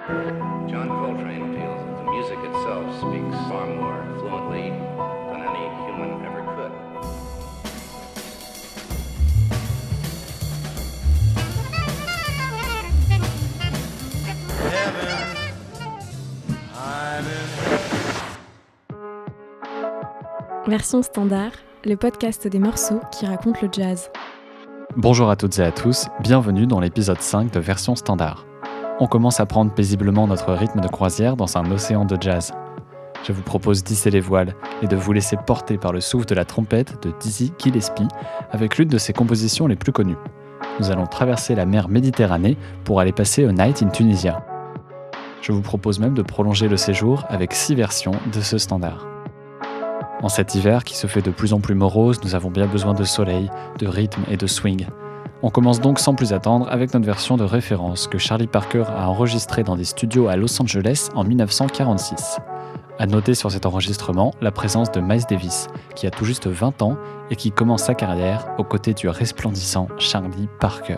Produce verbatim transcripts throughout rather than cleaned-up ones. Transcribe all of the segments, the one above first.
John Coltrane feels that the music itself speaks far more fluently than any human ever could. Heaven, I'm in... Version standard, le podcast des morceaux qui racontent le jazz. Bonjour à toutes et à tous, bienvenue dans l'épisode cinq de Version standard. On commence à prendre paisiblement notre rythme de croisière dans un océan de jazz. Je vous propose d'hisser les voiles et de vous laisser porter par le souffle de la trompette de Dizzy Gillespie avec l'une de ses compositions les plus connues. Nous allons traverser la mer Méditerranée pour aller passer A Night in Tunisia. Je vous propose même de prolonger le séjour avec six versions de ce standard. En cet hiver qui se fait de plus en plus morose, nous avons bien besoin de soleil, de rythme et de swing. On commence donc sans plus attendre avec notre version de référence que Charlie Parker a enregistrée dans des studios à Los Angeles en dix-neuf cent quarante-six. À noter sur cet enregistrement la présence de Miles Davis, qui a tout juste vingt ans et qui commence sa carrière aux côtés du resplendissant Charlie Parker.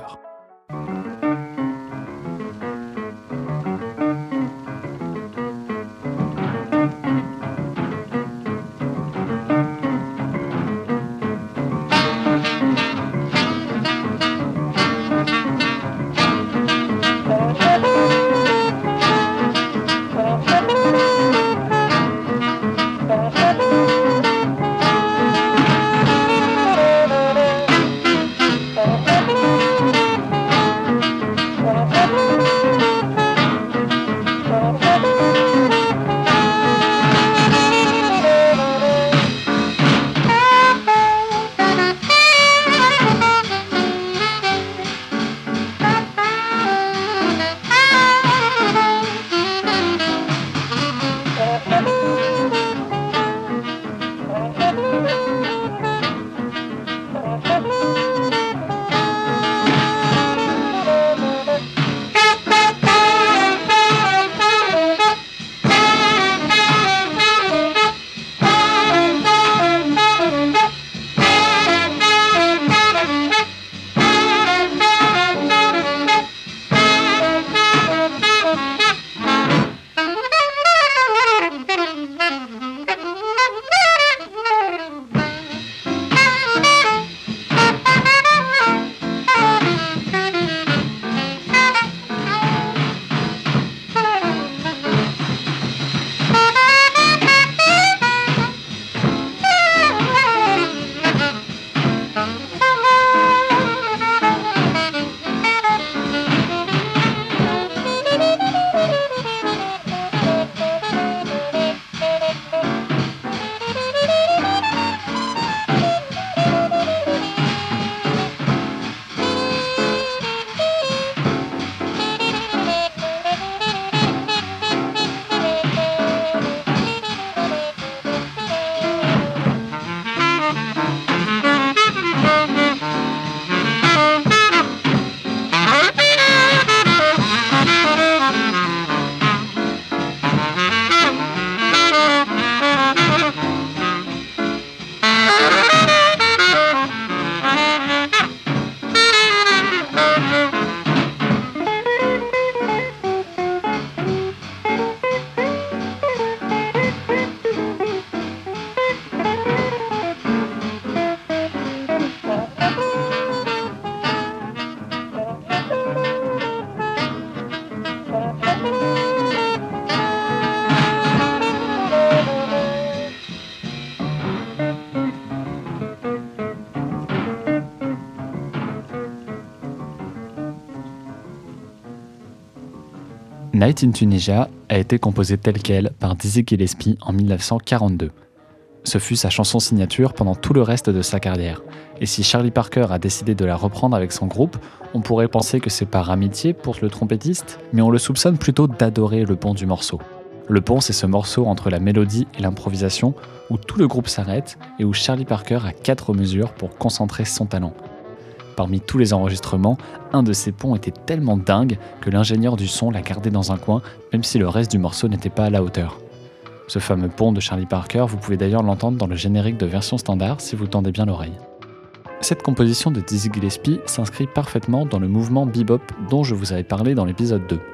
Night in Tunisia a été composée telle quelle par Dizzy Gillespie en dix-neuf cent quarante-deux. Ce fut sa chanson signature pendant tout le reste de sa carrière. Et si Charlie Parker a décidé de la reprendre avec son groupe, on pourrait penser que c'est par amitié pour le trompettiste, mais on le soupçonne plutôt d'adorer le pont du morceau. Le pont, c'est ce morceau entre la mélodie et l'improvisation où tout le groupe s'arrête et où Charlie Parker a quatre mesures pour concentrer son talent. Parmi tous les enregistrements, un de ces ponts était tellement dingue que l'ingénieur du son l'a gardé dans un coin, même si le reste du morceau n'était pas à la hauteur. Ce fameux pont de Charlie Parker, vous pouvez d'ailleurs l'entendre dans le générique de Version standard si vous tendez bien l'oreille. Cette composition de Dizzy Gillespie s'inscrit parfaitement dans le mouvement bebop dont je vous avais parlé dans l'épisode deux.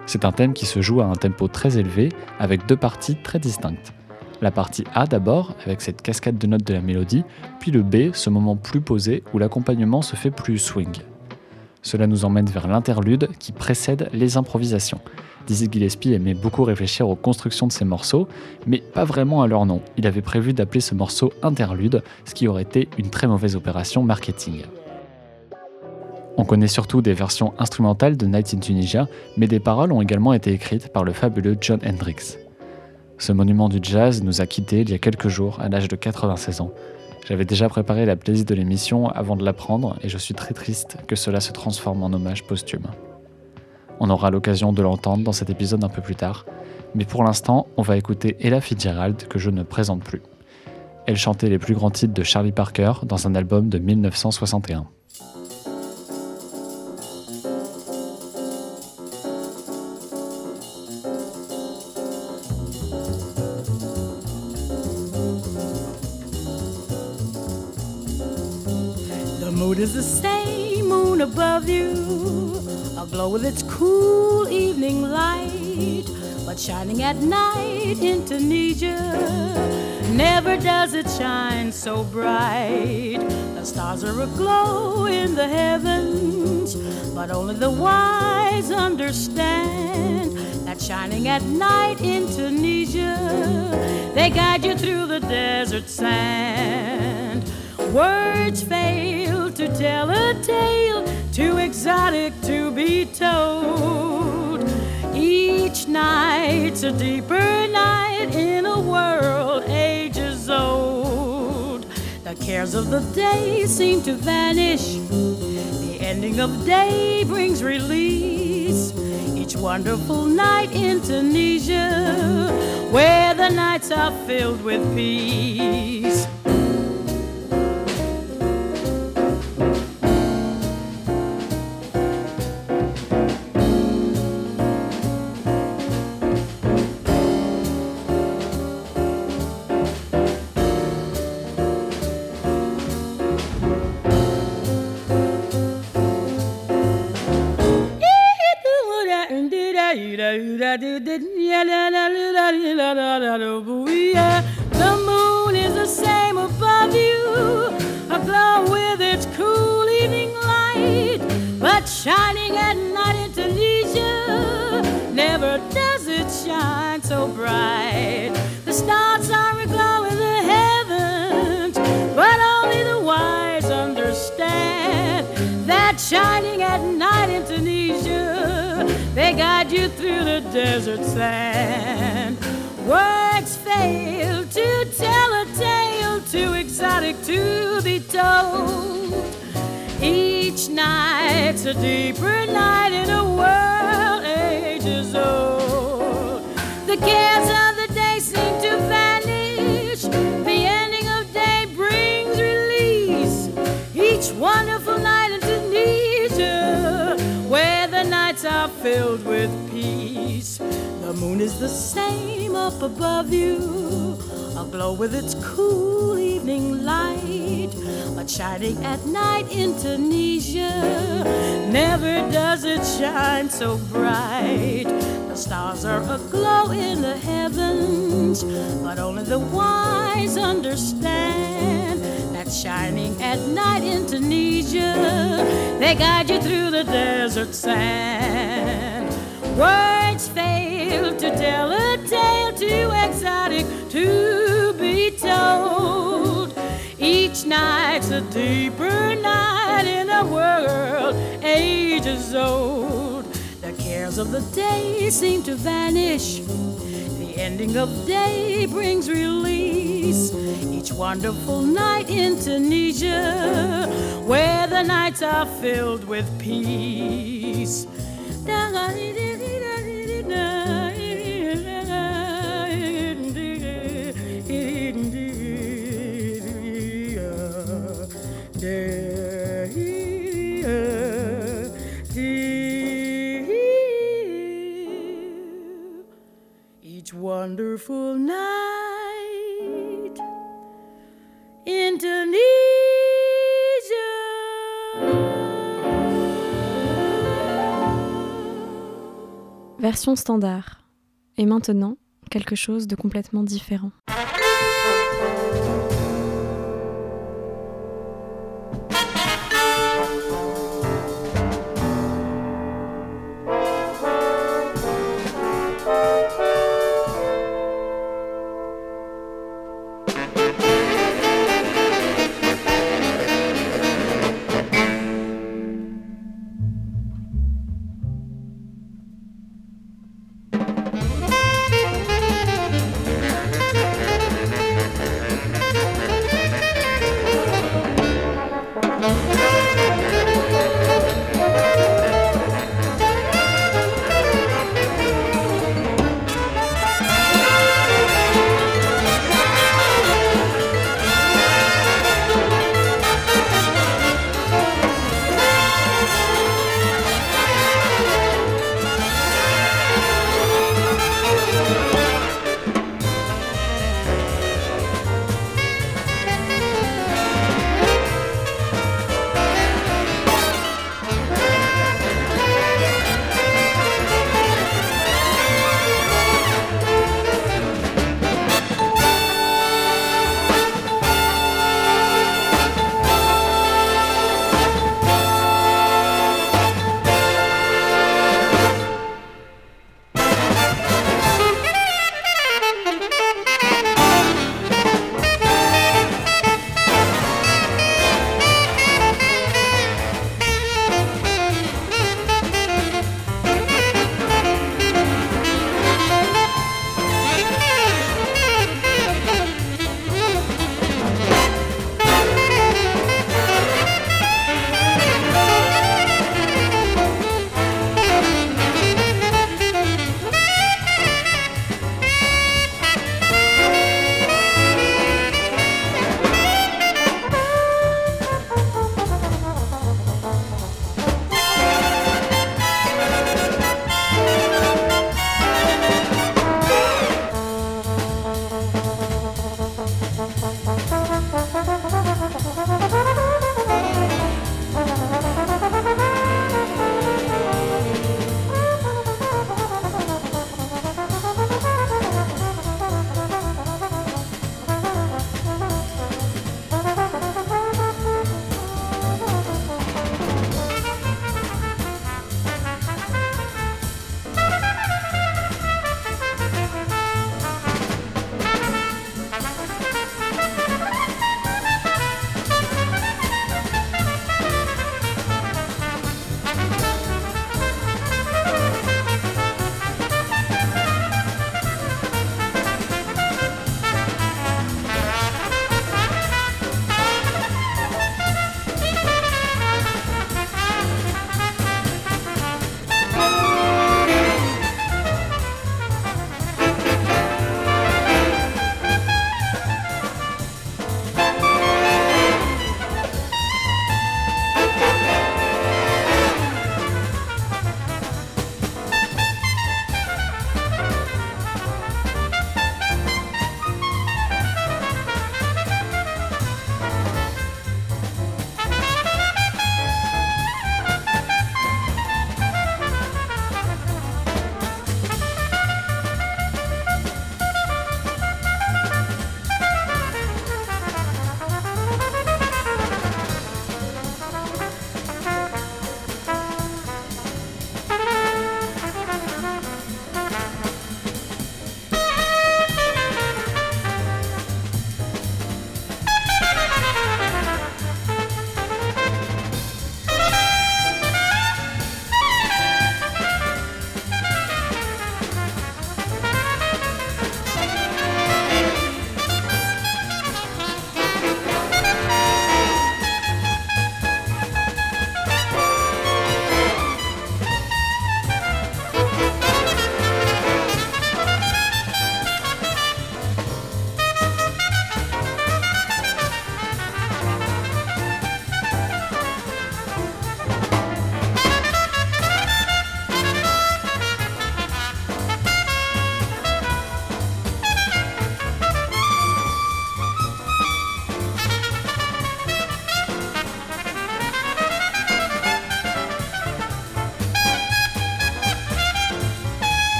C'est un thème qui se joue à un tempo très élevé, avec deux parties très distinctes. La partie A d'abord, avec cette cascade de notes de la mélodie, puis le B, ce moment plus posé où l'accompagnement se fait plus swing. Cela nous emmène vers l'interlude qui précède les improvisations. Dizzy Gillespie aimait beaucoup réfléchir aux constructions de ses morceaux, mais pas vraiment à leur nom. Il avait prévu d'appeler ce morceau interlude, ce qui aurait été une très mauvaise opération marketing. On connaît surtout des versions instrumentales de Night in Tunisia, mais des paroles ont également été écrites par le fabuleux Jon Hendricks. Ce monument du jazz nous a quittés il y a quelques jours, à l'âge de quatre-vingt-seize ans. J'avais déjà préparé la playlist de l'émission avant de l'apprendre, et je suis très triste que cela se transforme en hommage posthume. On aura l'occasion de l'entendre dans cet épisode un peu plus tard, mais pour l'instant, on va écouter Ella Fitzgerald que je ne présente plus. Elle chantait les plus grands titres de Charlie Parker dans un album de mille neuf cent soixante et un. The moon is the same moon above you, aglow with its cool evening light, but shining at night in Tunisia. Never does it shine so bright. The stars are aglow in the heavens, but only the wise understand that shining at night in Tunisia, they guide you through the desert sand. Words fail to tell a tale too exotic to be told. Each night's a deeper night in a world ages old. The cares of the day seem to vanish. The ending of day brings release. Each wonderful night in Tunisia, where the nights are filled with peace. The moon is the same above you, aglow with its cool evening light, but shining at night in Tunisia, never does it shine so bright. The stars are aglow in the heavens, but only the wise understand that shining at night in Tunisia, they guide you through the desert sand. Words fail to tell a tale too exotic to be told. Each night's a deeper night in a world ages old. The cares of the day seem to vanish. The ending of day brings release. Each wonderful night in Tunisia, where the nights are filled with peace. The moon is the same up above you, aglow with its cool evening light, but shining at night in Tunisia, never does it shine so bright. The stars are aglow in the heavens, but only the wise understand that shining at night in Tunisia, they guide you through the desert sand. Words fail to tell a tale too exotic to be told. Each night's a deeper night in a world ages old. The cares of the day seem to vanish. The ending of day brings release. Each wonderful night in Tunisia, where the nights are filled with peace. Each wonderful night in Tunisia. Version standard. Et maintenant, quelque chose de complètement différent.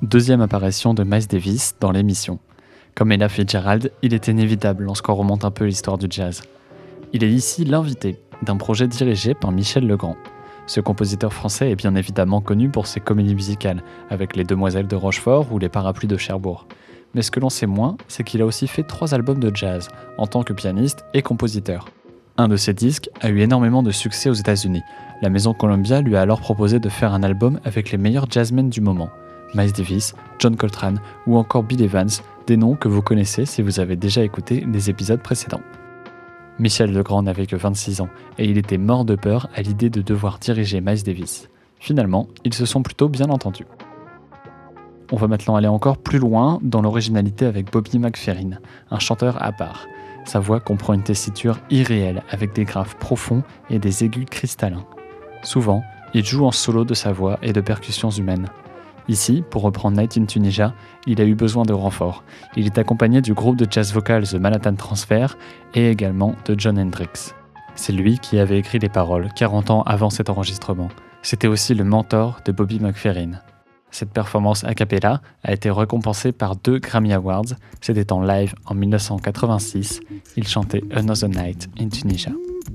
Deuxième apparition de Miles Davis dans l'émission. Comme Ella Fitzgerald, il est inévitable lorsqu'on remonte un peu l'histoire du jazz. Il est ici l'invité d'un projet dirigé par Michel Legrand. Ce compositeur français est bien évidemment connu pour ses comédies musicales, avec Les Demoiselles de Rochefort ou Les Parapluies de Cherbourg. Mais ce que l'on sait moins, c'est qu'il a aussi fait trois albums de jazz, en tant que pianiste et compositeur. Un de ces disques a eu énormément de succès aux États-Unis. La maison Columbia lui a alors proposé de faire un album avec les meilleurs jazzmen du moment. Miles Davis, John Coltrane ou encore Bill Evans, des noms que vous connaissez si vous avez déjà écouté des épisodes précédents. Michel Legrand n'avait que vingt-six ans et il était mort de peur à l'idée de devoir diriger Miles Davis. Finalement, ils se sont plutôt bien entendus. On va maintenant aller encore plus loin dans l'originalité avec Bobby McFerrin, un chanteur à part. Sa voix comprend une tessiture irréelle avec des graves profonds et des aigus cristallins. Souvent, il joue en solo de sa voix et de percussions humaines. Ici, pour reprendre Night in Tunisia, il a eu besoin de renforts. Il est accompagné du groupe de jazz vocal The Manhattan Transfer et également de Jon Hendricks. C'est lui qui avait écrit les paroles quarante ans avant cet enregistrement. C'était aussi le mentor de Bobby McFerrin. Cette performance a cappella a été récompensée par deux Grammy Awards. C'était en live en dix-neuf cent quatre-vingt-six. Il chantait Another Night in Tunisia.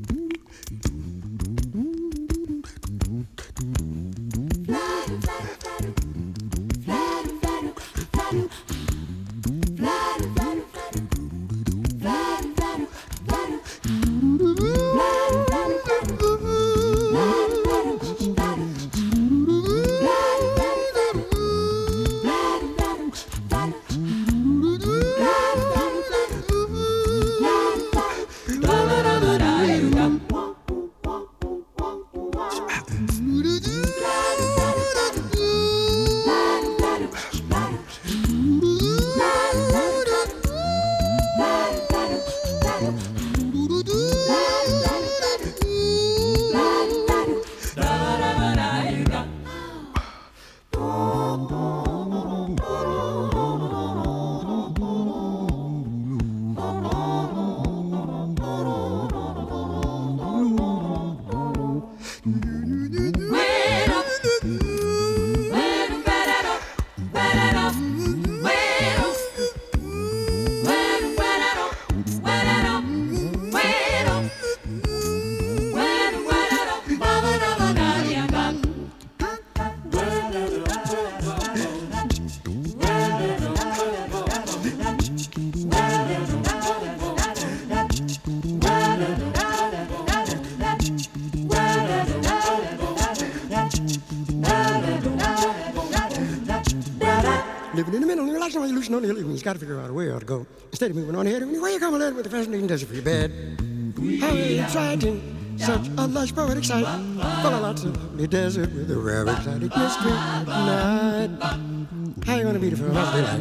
Living in the middle, you're like somebody loose on the illusion. You've got to figure out a way to go. Instead of moving on ahead, where you come along with the fascinating desert for your bed. How exciting, such a lush poetic sight. Full of lots of lovely desert with a rare exotic mystery night. How you gonna be the first daylight?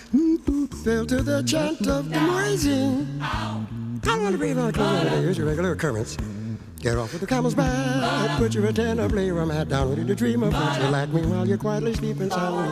Fell to the chant of the noisy. How you gonna breathe on the clothes? Here's your regular occurrence. Get off with the camel's back, put your antenna, play your hat down, ready to dream of what you like me while you're quietly sleeping soundly.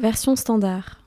Version standard.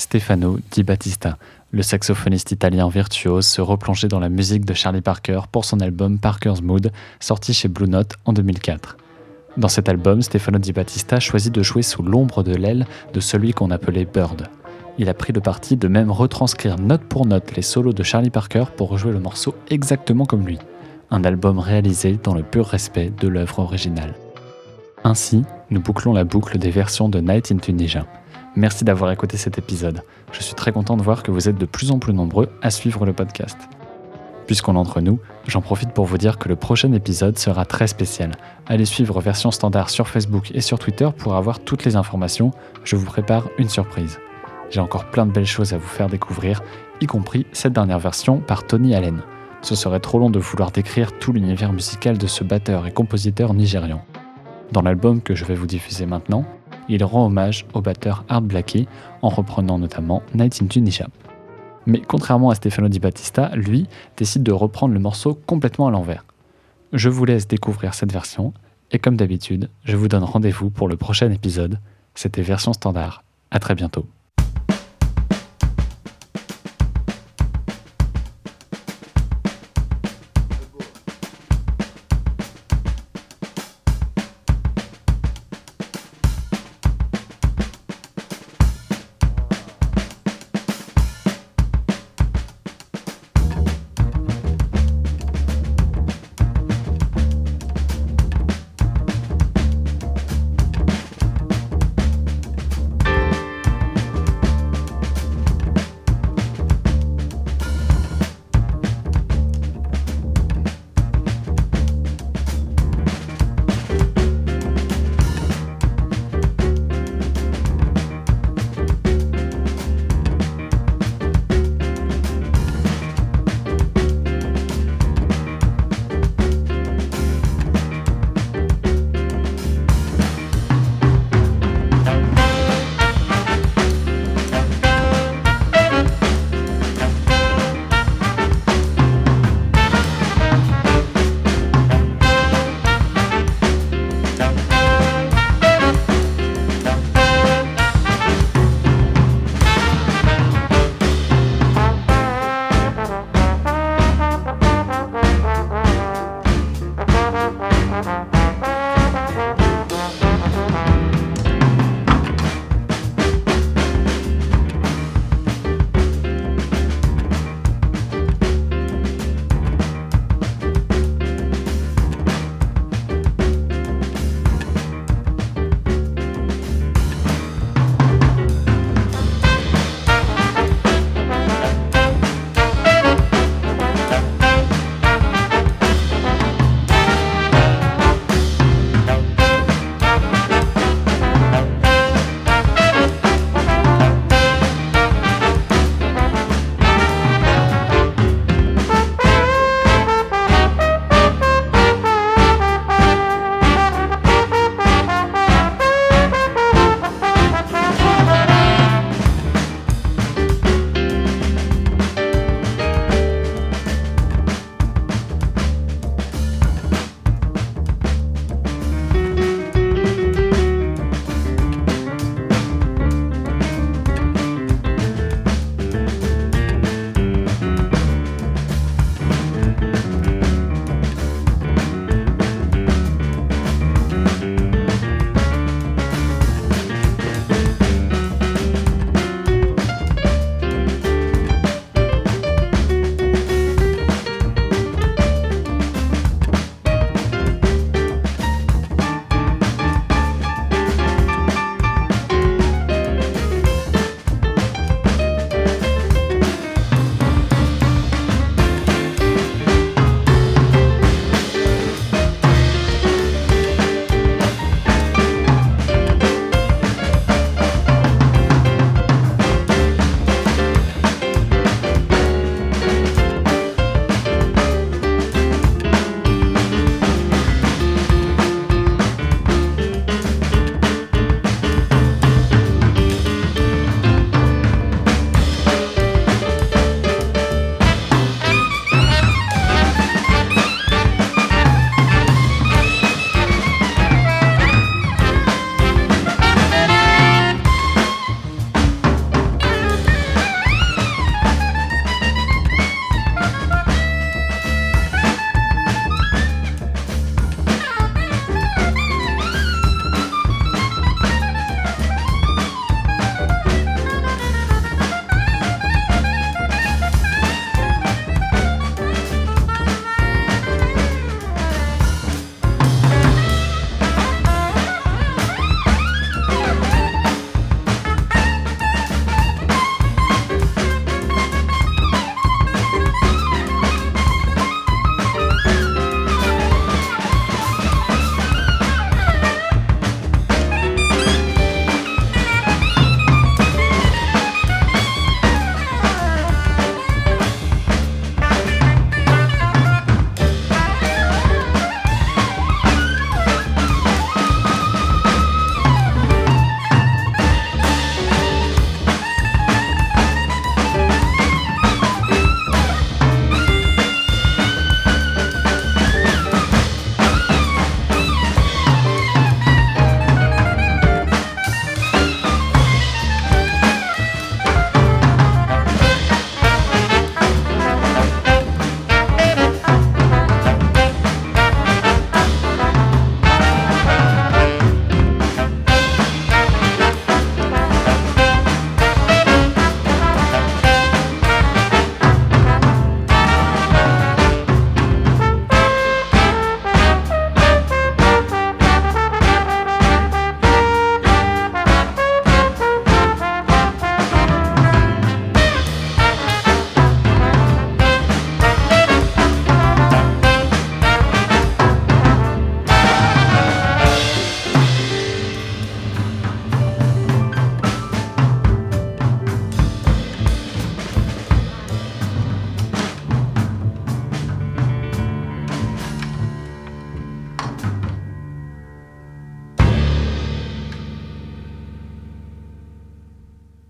Stefano Di Battista, le saxophoniste italien virtuose, se replongeait dans la musique de Charlie Parker pour son album Parker's Mood, sorti chez Blue Note en deux mille quatre. Dans cet album, Stefano Di Battista choisit de jouer sous l'ombre de l'aile de celui qu'on appelait Bird. Il a pris le parti de même retranscrire note pour note les solos de Charlie Parker pour rejouer le morceau exactement comme lui. Un album réalisé dans le pur respect de l'œuvre originale. Ainsi, nous bouclons la boucle des versions de Night in Tunisia. Merci d'avoir écouté cet épisode. Je suis très content de voir que vous êtes de plus en plus nombreux à suivre le podcast. Puisqu'on est entre nous, j'en profite pour vous dire que le prochain épisode sera très spécial. Allez suivre Version Standard sur Facebook et sur Twitter pour avoir toutes les informations. Je vous prépare une surprise. J'ai encore plein de belles choses à vous faire découvrir, y compris cette dernière version par Tony Allen. Ce serait trop long de vouloir décrire tout l'univers musical de ce batteur et compositeur nigérian. Dans l'album que je vais vous diffuser maintenant, il rend hommage au batteur Art Blakey en reprenant notamment Night in Tunisia. Mais contrairement à Stefano Di Battista, lui décide de reprendre le morceau complètement à l'envers. Je vous laisse découvrir cette version, et comme d'habitude, je vous donne rendez-vous pour le prochain épisode. C'était Version Standard. À très bientôt.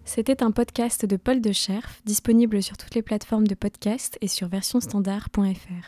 C'était un podcast de Paul de Scherf, disponible sur toutes les plateformes de podcast et sur version standard point f r.